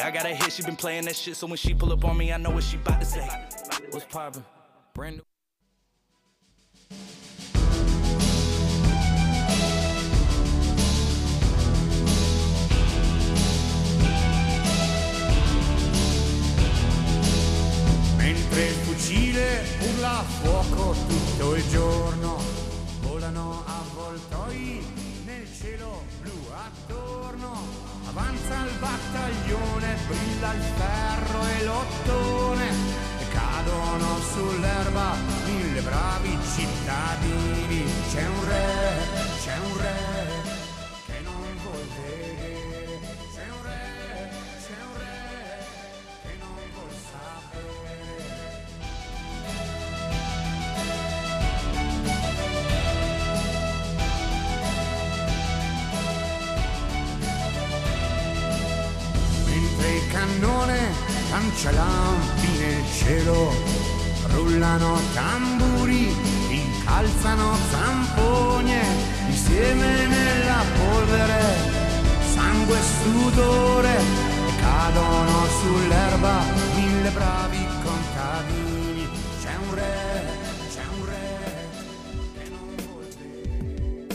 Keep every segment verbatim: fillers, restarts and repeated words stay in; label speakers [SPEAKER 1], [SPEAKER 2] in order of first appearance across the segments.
[SPEAKER 1] I got a hit, she been playing that shit, so when she pull up on me, I know what she bout to say. What's poppin'? Brand new.
[SPEAKER 2] Mentre il fucile urla a fuoco tutto il giorno, volano avvoltoi nel cielo blu attorno, avanza il battaglione, brilla il ferro e l'ottone, e cadono sull'erba mille bravi cittadini. C'è un re, c'è un re che non vuol vedere, c'è un re, c'è un re che non vuol sapere. Mentre il cannone lancia lampi nel cielo, rullano tamburi, incalzano zampogne, insieme nella polvere, sangue e sudore, e cadono sull'erba mille bravi contadini. C'è un re, c'è un re che non vuol vedere.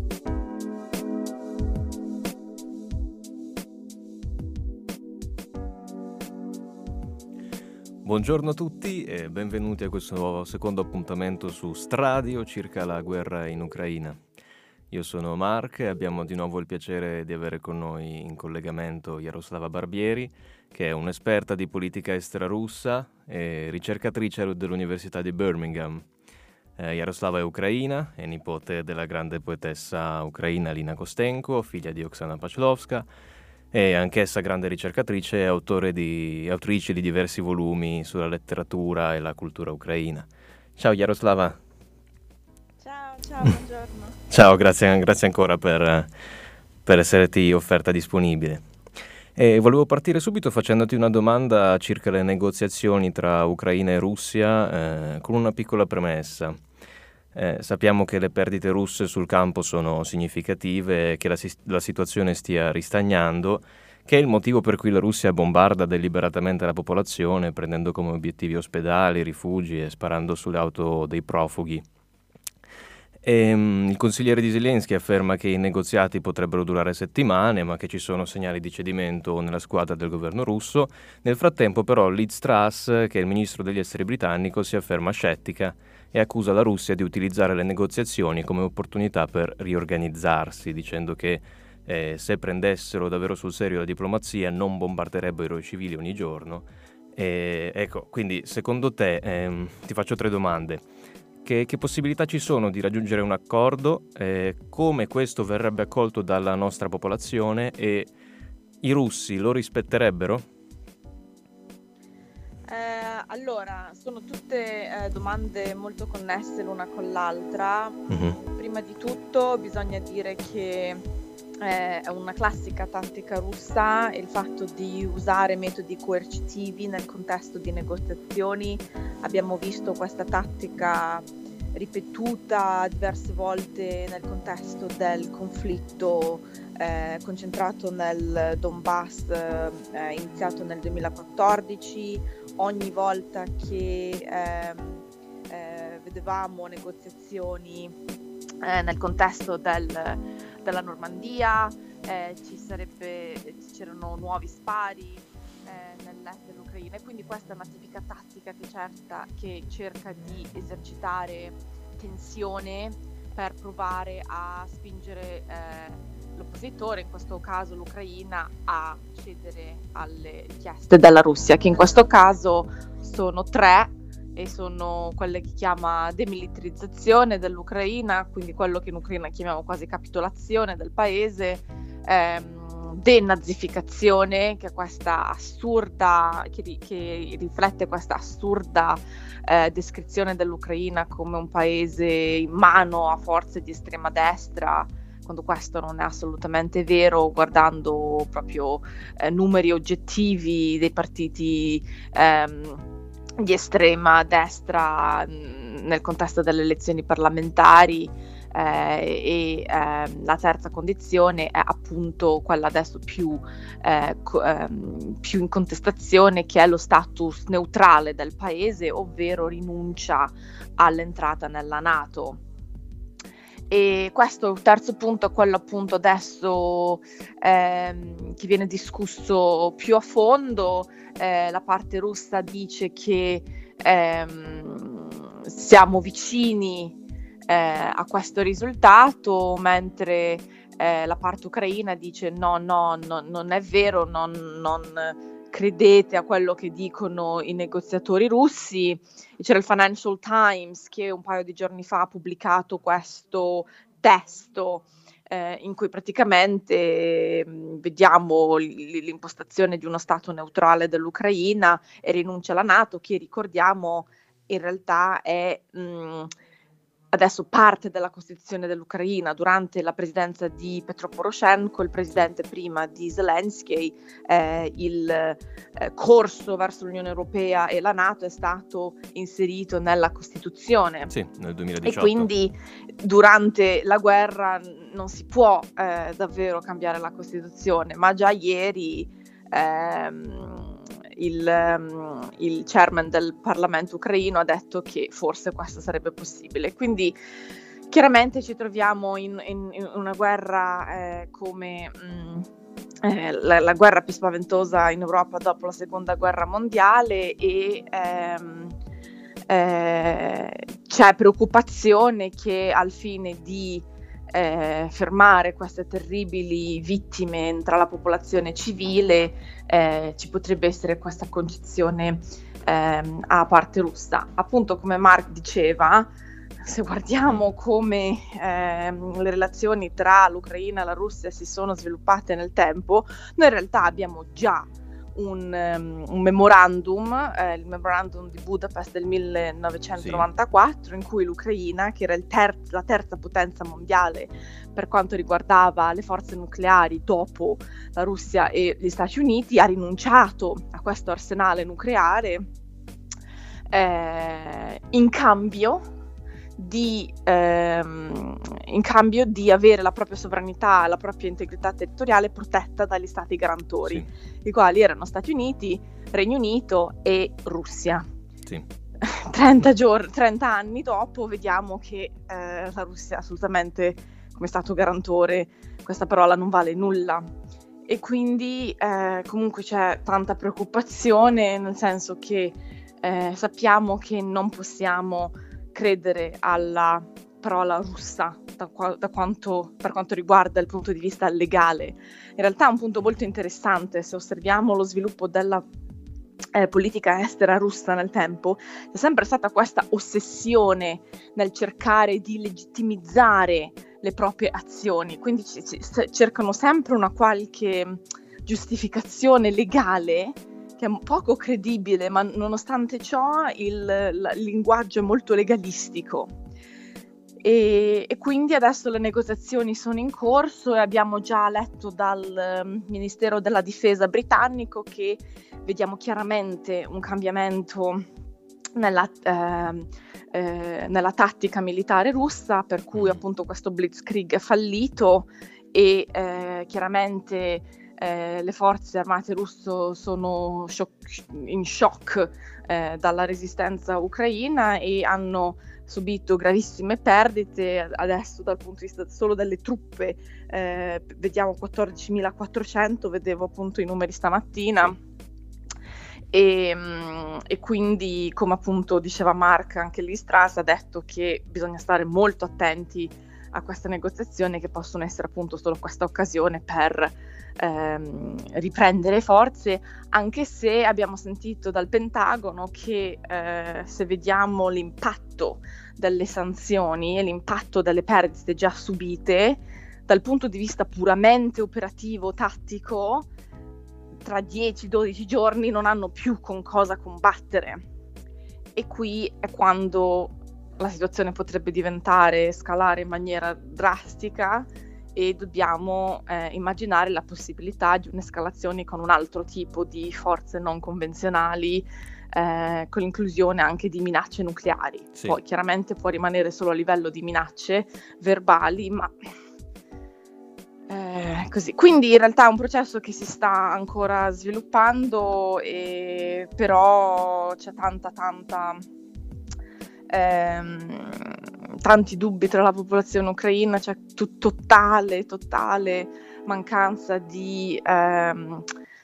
[SPEAKER 3] Buongiorno a tutti e benvenuti a questo nuovo secondo appuntamento su Stradio circa la guerra in Ucraina. Io sono Mark e abbiamo di nuovo il piacere di avere con noi in collegamento Jaroslava Barbieri, che è un'esperta di politica estera russa e ricercatrice dell'Università di Birmingham. Eh, Jaroslava è ucraina, è nipote della grande poetessa ucraina Lina Kostenko, figlia di Oksana Pavlovska, e anch'essa grande ricercatrice e autore di, autrice di diversi volumi sulla letteratura e la cultura ucraina. Ciao Jaroslava.
[SPEAKER 4] Ciao, ciao, buongiorno.
[SPEAKER 3] Ciao, grazie, grazie ancora per, per esserti offerta disponibile. E volevo partire subito facendoti una domanda circa le negoziazioni tra Ucraina e Russia, eh, con una piccola premessa. Eh, sappiamo che le perdite russe sul campo sono significative e che la, la situazione stia ristagnando, che è il motivo per cui la Russia bombarda deliberatamente la popolazione, prendendo come obiettivi ospedali, rifugi e sparando sulle auto dei profughi. E, um, il consigliere di Zelensky afferma che i negoziati potrebbero durare settimane, ma che ci sono segnali di cedimento nella squadra del governo russo. Nel frattempo però Liz Truss, che è il ministro degli esteri britannico, si afferma scettica e accusa la Russia di utilizzare le negoziazioni come opportunità per riorganizzarsi, dicendo che eh, se prendessero davvero sul serio la diplomazia non bombarderebbero i civili ogni giorno. E, ecco, quindi secondo te, ehm, ti faccio tre domande. Che, che possibilità ci sono di raggiungere un accordo? Eh, come questo verrebbe accolto dalla nostra popolazione? E i russi lo rispetterebbero?
[SPEAKER 4] Eh, allora, sono tutte eh, domande molto connesse l'una con l'altra.
[SPEAKER 3] Mm-hmm.
[SPEAKER 4] Prima di tutto bisogna dire che eh, è una classica tattica russa il fatto di usare metodi coercitivi nel contesto di negoziazioni. Abbiamo visto questa tattica ripetuta diverse volte nel contesto del conflitto eh, concentrato nel Donbass, eh, iniziato nel duemilaquattordici. Ogni volta che eh, eh, vedevamo negoziazioni eh, nel contesto del, della Normandia, eh, ci sarebbe, c'erano nuovi spari eh, nell'est dell'Ucraina, e quindi questa è una tipica tattica che, certa, che cerca di esercitare tensione per provare a spingere eh, l'oppositore, in questo caso l'Ucraina, a cedere alle richieste della Russia, che in questo caso sono tre e sono quelle che chiama demilitarizzazione dell'Ucraina, quindi quello che in Ucraina chiamiamo quasi capitolazione del paese, ehm, denazificazione, che è questa assurda, che, che riflette questa assurda eh, descrizione dell'Ucraina come un paese in mano a forze di estrema destra, quando questo non è assolutamente vero, guardando proprio eh, numeri oggettivi dei partiti ehm, di estrema destra mh, nel contesto delle elezioni parlamentari. eh, e eh, la terza condizione è appunto quella adesso più, eh, co- ehm, più in contestazione, che è lo status neutrale del paese, ovvero rinuncia all'entrata nella NATO. E questo il terzo punto è quello appunto adesso ehm, che viene discusso più a fondo. Eh, la parte russa dice che ehm, siamo vicini eh, a questo risultato, mentre eh, la parte ucraina dice no, no, no, non è vero, non, non credete a quello che dicono i negoziatori russi. C'era il Financial Times che un paio di giorni fa ha pubblicato questo testo eh, in cui praticamente mh, vediamo l- l'impostazione di uno stato neutrale dell'Ucraina e rinuncia alla NATO, che ricordiamo in realtà è mh, adesso parte della Costituzione dell'Ucraina. Durante la presidenza di Petro Poroshenko, il presidente prima di Zelensky, eh, il eh, corso verso l'Unione Europea e la NATO è stato inserito nella Costituzione.
[SPEAKER 3] Sì, nel duemiladiciotto.
[SPEAKER 4] E quindi durante la guerra non si può eh, davvero cambiare la Costituzione, ma già ieri ehm, il, um, il chairman del Parlamento ucraino ha detto che forse questo sarebbe possibile. Quindi chiaramente ci troviamo in, in, in una guerra eh, come mh, eh, la, la guerra più spaventosa in Europa dopo la seconda guerra mondiale, e ehm, eh, c'è preoccupazione che al fine di Eh, fermare queste terribili vittime tra la popolazione civile eh, ci potrebbe essere questa concezione ehm, a parte russa. Appunto, come Mark diceva, se guardiamo come ehm, le relazioni tra l'Ucraina e la Russia si sono sviluppate nel tempo, noi in realtà abbiamo già Un, um, un memorandum, eh, il memorandum di Budapest del millenovecentonovantaquattro, sì, in cui l'Ucraina, che era il ter- la terza potenza mondiale per quanto riguardava le forze nucleari dopo la Russia e gli Stati Uniti, ha rinunciato a questo arsenale nucleare eh, in cambio di ehm, in cambio di avere la propria sovranità, la propria integrità territoriale protetta dagli stati garantori, sì, i quali erano Stati Uniti, Regno Unito e Russia.
[SPEAKER 3] Sì.
[SPEAKER 4] trenta, giorni, trenta anni dopo vediamo che eh, la Russia assolutamente come stato garantore questa parola non vale nulla, e quindi eh, comunque c'è tanta preoccupazione, nel senso che eh, sappiamo che non possiamo credere alla parola russa da, qua, da quanto, per quanto riguarda il punto di vista legale. In realtà è un punto molto interessante, se osserviamo lo sviluppo della eh, politica estera russa nel tempo, c'è sempre stata questa ossessione nel cercare di legittimizzare le proprie azioni, quindi c- c- cercano sempre una qualche giustificazione legale che è poco credibile, ma nonostante ciò il, il linguaggio è molto legalistico. E, e quindi adesso le negoziazioni sono in corso e abbiamo già letto dal um, Ministero della Difesa britannico che vediamo chiaramente un cambiamento nella, eh, eh, nella tattica militare russa, per cui appunto questo blitzkrieg è fallito e eh, chiaramente Eh, le forze armate russe sono shock, in shock eh, dalla resistenza ucraina e hanno subito gravissime perdite. Adesso dal punto di vista solo delle truppe eh, vediamo quattordicimilaquattrocento, vedevo appunto i numeri stamattina. E, e quindi, come appunto diceva Mark, anche l'Istras ha detto che bisogna stare molto attenti a queste negoziazioni, che possono essere appunto solo questa occasione per ehm, riprendere forze, anche se abbiamo sentito dal Pentagono che eh, se vediamo l'impatto delle sanzioni e l'impatto delle perdite già subite, dal punto di vista puramente operativo, tattico, tra dieci dodici giorni non hanno più con cosa combattere. E qui è quando la situazione potrebbe diventare, scalare in maniera drastica e dobbiamo eh, immaginare la possibilità di un'escalazione con un altro tipo di forze non convenzionali, eh, con l'inclusione anche di minacce nucleari.
[SPEAKER 3] Sì.
[SPEAKER 4] Poi chiaramente può rimanere solo a livello di minacce verbali, ma eh, così. Quindi in realtà è un processo che si sta ancora sviluppando, e però c'è tanta tanta ehm, tanti dubbi tra la popolazione ucraina, c'è t- totale totale mancanza di, ehm,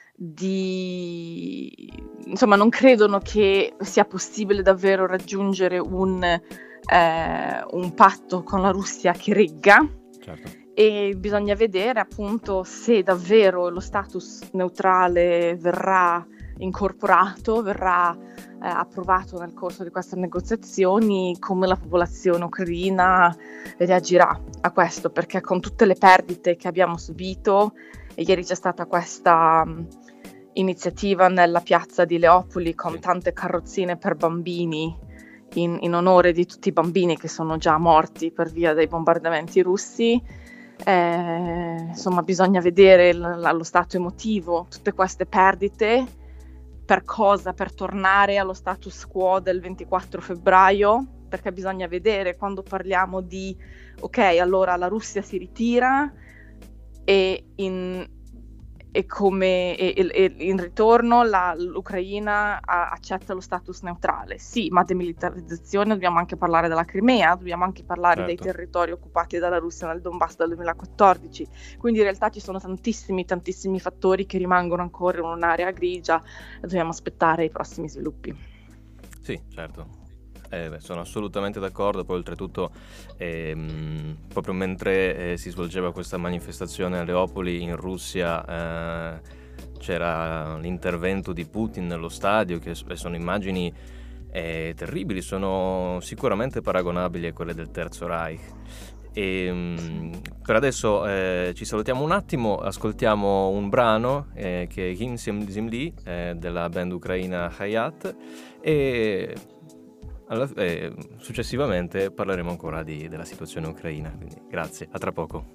[SPEAKER 4] di insomma non credono che sia possibile davvero raggiungere un, eh, un patto con la Russia che regga.
[SPEAKER 3] Certo.
[SPEAKER 4] E bisogna vedere appunto se davvero lo status neutrale verrà incorporato, verrà eh, approvato nel corso di queste negoziazioni, come la popolazione ucraina reagirà a questo, perché con tutte le perdite che abbiamo subito, e ieri c'è stata questa um, iniziativa nella piazza di Leopoli con tante carrozzine per bambini in, in onore di tutti i bambini che sono già morti per via dei bombardamenti russi. Eh, insomma, bisogna vedere l- lo stato emotivo, tutte queste perdite, per cosa? Per tornare allo status quo del ventiquattro febbraio, perché bisogna vedere, quando parliamo di ok, allora la Russia si ritira e in e come e, e in ritorno la, l'Ucraina a, accetta lo status neutrale. Sì, ma demilitarizzazione, dobbiamo anche parlare della Crimea, dobbiamo anche parlare certo. dei territori occupati dalla Russia nel Donbass del duemilaquattordici. Quindi in realtà ci sono tantissimi tantissimi fattori che rimangono ancora in un'area grigia e dobbiamo aspettare i prossimi sviluppi.
[SPEAKER 3] Sì, certo. Eh, beh, sono assolutamente d'accordo. Poi oltretutto ehm, proprio mentre eh, si svolgeva questa manifestazione a Leopoli in Russia eh, c'era l'intervento di Putin nello stadio, che sono immagini eh, terribili, sono sicuramente paragonabili a quelle del Terzo Reich. E, mh, per adesso eh, ci salutiamo un attimo, ascoltiamo un brano eh, che è Hymn Zemli eh, della band ucraina Hayat, e Alla, eh, successivamente parleremo ancora di, della situazione ucraina. Quindi grazie, a tra poco.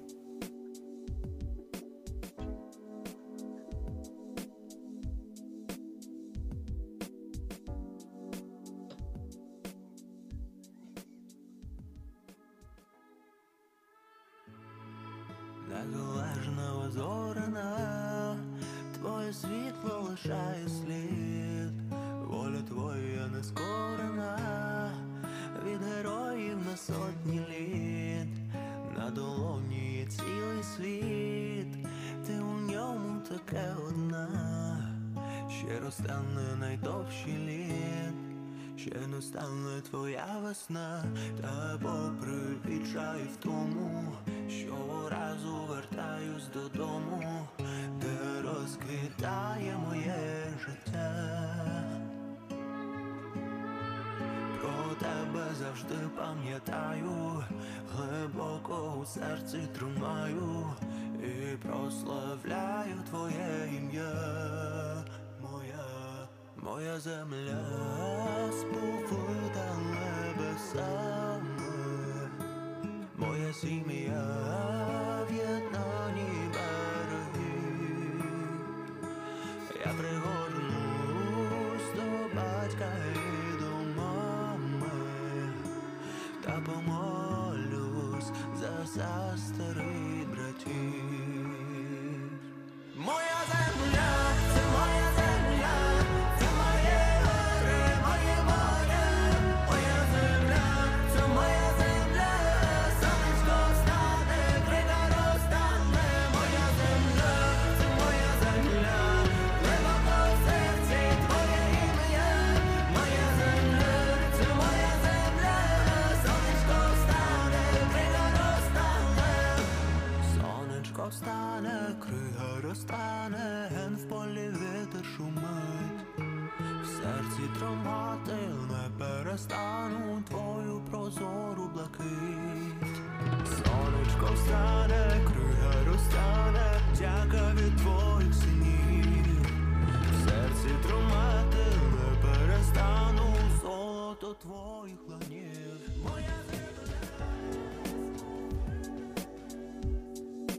[SPEAKER 5] Незалежна зоряна, твоє світло лишає слід, воля твоя нескорена, від героїв на сотні літ, на долоні є цілий світ, ти у ньому таке одна, ще розтане найдовший літ, ще не стане твоя весна, та попри відчай в тому, щоразу вертаюсь додому, де розквітає моє життя. Про тебе завжди пам'ятаю, глибоко у серці тримаю і прославляю твоє ім'я. Моя, моя земля сповита небесами, моя сім'я в єднанні береги. Я пригорнусь до батька і до мами, та помолюсь за сестри братів. Моя земля, це моя земля, це моє горе, моє море. Моя земля, це моя земля, сонечко встане, крига розтане. Моя земля, це моя земля, глибоко в серці твоє ім'я. Моя земля, це моя земля, сонечко встане, крига розтане. Сонечко встане, крига розтане, ген в полі вітер шумить. В серці тримати не перестану твою прозору блакить. Сонечко встане, крига розтане, дяка від твоїх синів. В серці тримати не перестану золото твоїх ланів. Моя земля.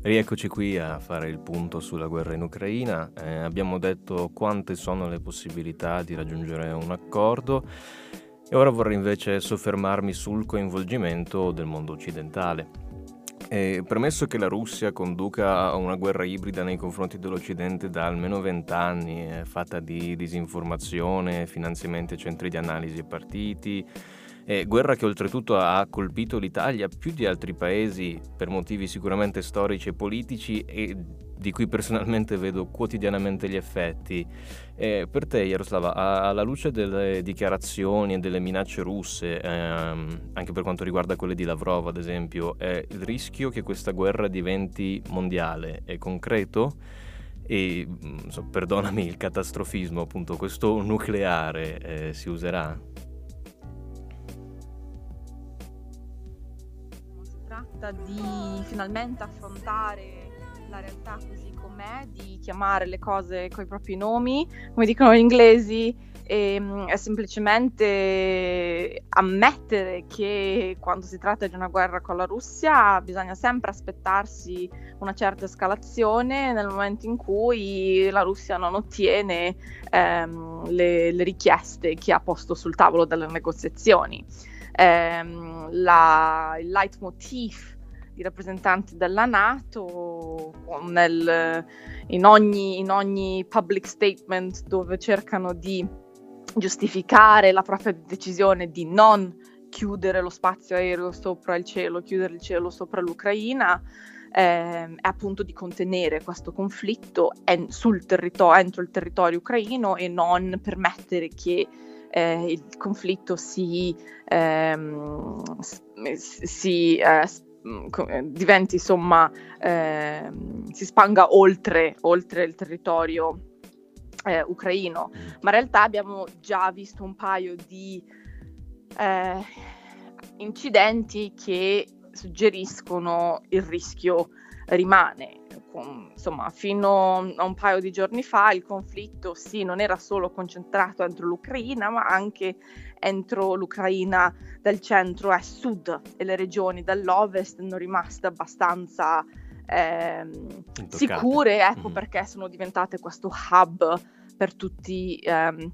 [SPEAKER 3] Rieccoci qui a fare il punto sulla guerra in Ucraina. Eh, abbiamo detto quante sono le possibilità di raggiungere un accordo e ora vorrei invece soffermarmi sul coinvolgimento del mondo occidentale. E premesso che la Russia conduca una guerra ibrida nei confronti dell'Occidente da almeno vent'anni, eh, fatta di disinformazione, finanziamenti a centri di analisi e partiti, Eh, guerra che oltretutto ha colpito l'Italia più di altri paesi per motivi sicuramente storici e politici e di cui personalmente vedo quotidianamente gli effetti. Eh, per te, Jaroslava, a- alla luce delle dichiarazioni e delle minacce russe, ehm, anche per quanto riguarda quelle di Lavrov ad esempio, è il rischio che questa guerra diventi mondiale è concreto? E, mm, so, perdonami il catastrofismo, appunto, questo nucleare eh, si userà?
[SPEAKER 4] Si tratta di finalmente affrontare la realtà così com'è, di chiamare le cose coi propri nomi, come dicono gli inglesi, e mm, è semplicemente ammettere che quando si tratta di una guerra con la Russia bisogna sempre aspettarsi una certa escalazione nel momento in cui la Russia non ottiene ehm, le, le richieste che ha posto sul tavolo delle negoziazioni. Ehm, la, il leitmotiv i rappresentanti della NATO nel, in, ogni, in ogni public statement dove cercano di giustificare la propria decisione di non chiudere lo spazio aereo sopra il cielo, chiudere il cielo sopra l'Ucraina, eh, è appunto di contenere questo conflitto en- sul territorio, entro il territorio ucraino e non permettere che eh, il conflitto si, ehm, si eh, diventi insomma eh, si spanga oltre, oltre il territorio eh, ucraino, ma in realtà abbiamo già visto un paio di eh, incidenti che suggeriscono il rischio rimane. Con, insomma, fino a un paio di giorni fa il conflitto sì non era solo concentrato entro l'Ucraina, ma anche entro l'Ucraina del centro e sud, e le regioni dell'ovest sono rimaste abbastanza ehm, sicure, ecco mm. perché sono diventate questo hub per tutti ehm,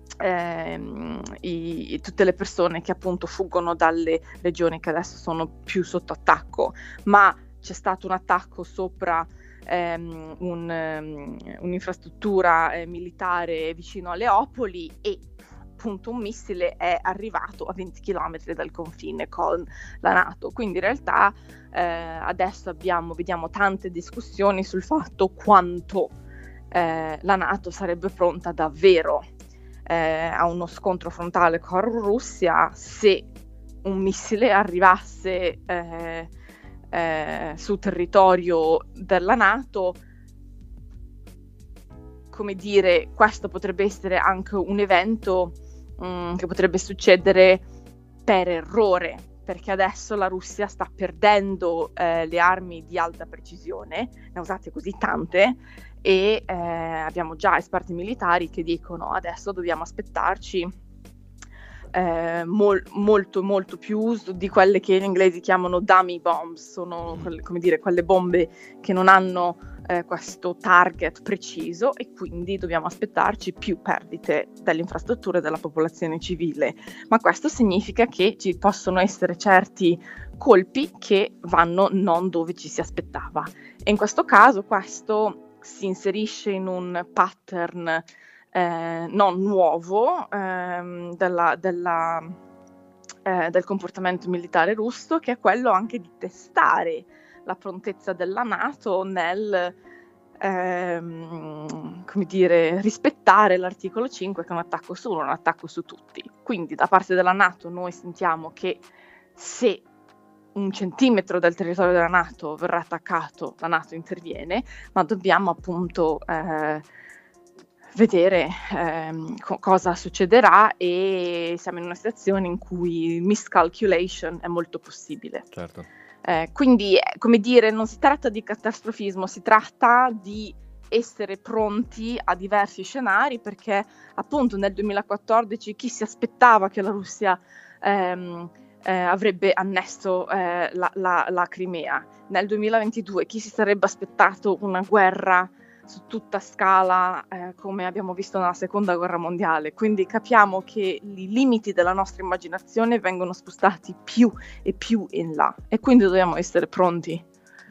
[SPEAKER 4] ehm, i, tutte le persone che appunto fuggono dalle regioni che adesso sono più sotto attacco. Ma c'è stato un attacco sopra ehm, un, um, un'infrastruttura eh, militare vicino a Leopoli e appunto un missile è arrivato a venti chilometri dal confine con la NATO. Quindi in realtà eh, adesso abbiamo, vediamo tante discussioni sul fatto quanto eh, la NATO sarebbe pronta davvero eh, a uno scontro frontale con la Russia se un missile arrivasse eh, Eh, sul territorio della NATO. Come dire, questo potrebbe essere anche un evento mh, che potrebbe succedere per errore, perché adesso la Russia sta perdendo eh, le armi di alta precisione, ne ha usate così tante, e eh, abbiamo già esperti militari che dicono adesso dobbiamo aspettarci Eh, mol, molto molto più uso di quelle che gli inglesi chiamano dummy bombs, sono quelle, come dire, quelle bombe che non hanno eh, questo target preciso, e quindi dobbiamo aspettarci più perdite delle infrastrutture e della popolazione civile. Ma questo significa che ci possono essere certi colpi che vanno non dove ci si aspettava, e in questo caso questo si inserisce in un pattern Eh, non nuovo ehm, della, della, eh, del comportamento militare russo, che è quello anche di testare la prontezza della NATO nel ehm, come dire, rispettare l'articolo cinque, che è un attacco su uno, un attacco su tutti. Quindi da parte della NATO noi sentiamo che se un centimetro del territorio della NATO verrà attaccato, la NATO interviene, ma dobbiamo appunto eh, vedere ehm, co- cosa succederà, e siamo in una situazione in cui miscalculation è molto possibile.
[SPEAKER 3] Certo.
[SPEAKER 4] Eh, quindi, come dire, non si tratta di catastrofismo, si tratta di essere pronti a diversi scenari, perché appunto nel duemilaquattordici chi si aspettava che la Russia ehm, eh, avrebbe annesso eh, la, la, la Crimea. Nel duemilaventidue chi si sarebbe aspettato una guerra su tutta scala eh, come abbiamo visto nella seconda guerra mondiale? Quindi capiamo che i limiti della nostra immaginazione vengono spostati più e più in là e quindi dobbiamo essere pronti.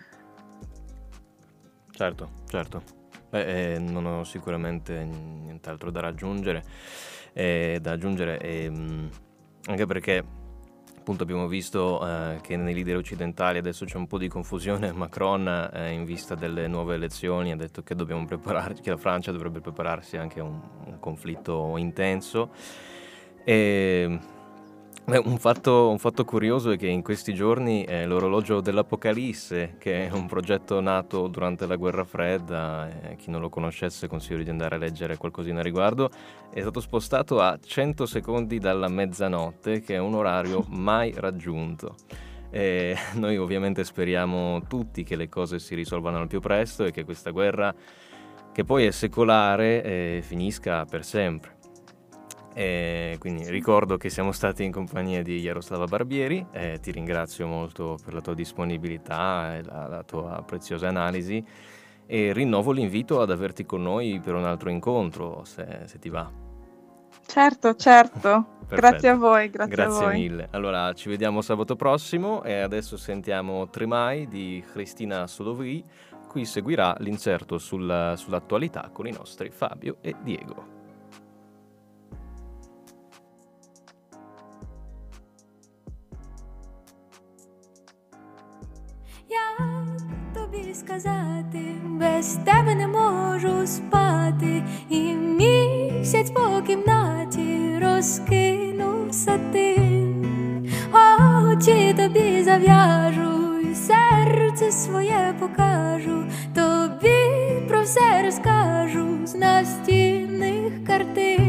[SPEAKER 3] Certo, certo. Beh, eh, non ho sicuramente nient'altro da raggiungere, eh, da aggiungere, eh, anche perché appunto abbiamo visto eh, che nei leader occidentali adesso c'è un po' di confusione. Macron eh, in vista delle nuove elezioni ha detto che dobbiamo prepararci, che la Francia dovrebbe prepararsi anche a un, un conflitto intenso. E beh, un fatto, un fatto curioso è che in questi giorni eh, l'orologio dell'Apocalisse, che è un progetto nato durante la guerra fredda, eh, chi non lo conoscesse consiglio di andare a leggere qualcosina a riguardo, è stato spostato a cento secondi dalla mezzanotte, che è un orario mai raggiunto. E noi ovviamente speriamo tutti che le cose si risolvano al più presto e che questa guerra, che poi è secolare, eh, finisca per sempre. E quindi ricordo che siamo stati in compagnia di Jaroslava Barbieri, eh, ti ringrazio molto per la tua disponibilità e la, la tua preziosa analisi e rinnovo l'invito ad averti con noi per un altro incontro, se, se ti va.
[SPEAKER 4] Certo, certo. Grazie a voi, grazie,
[SPEAKER 3] grazie
[SPEAKER 4] a voi.
[SPEAKER 3] mille. Allora ci vediamo sabato prossimo e adesso sentiamo Tremai di Cristina Solovri, qui seguirà l'inserto sulla, sull'attualità con i nostri Fabio e Diego.
[SPEAKER 6] Як тобі сказати, без тебе не можу спати, і місяць по кімнаті розкинув сатин. Очі тобі зав'яжу, і серце своє покажу, тобі про все розкажу з настінних картин.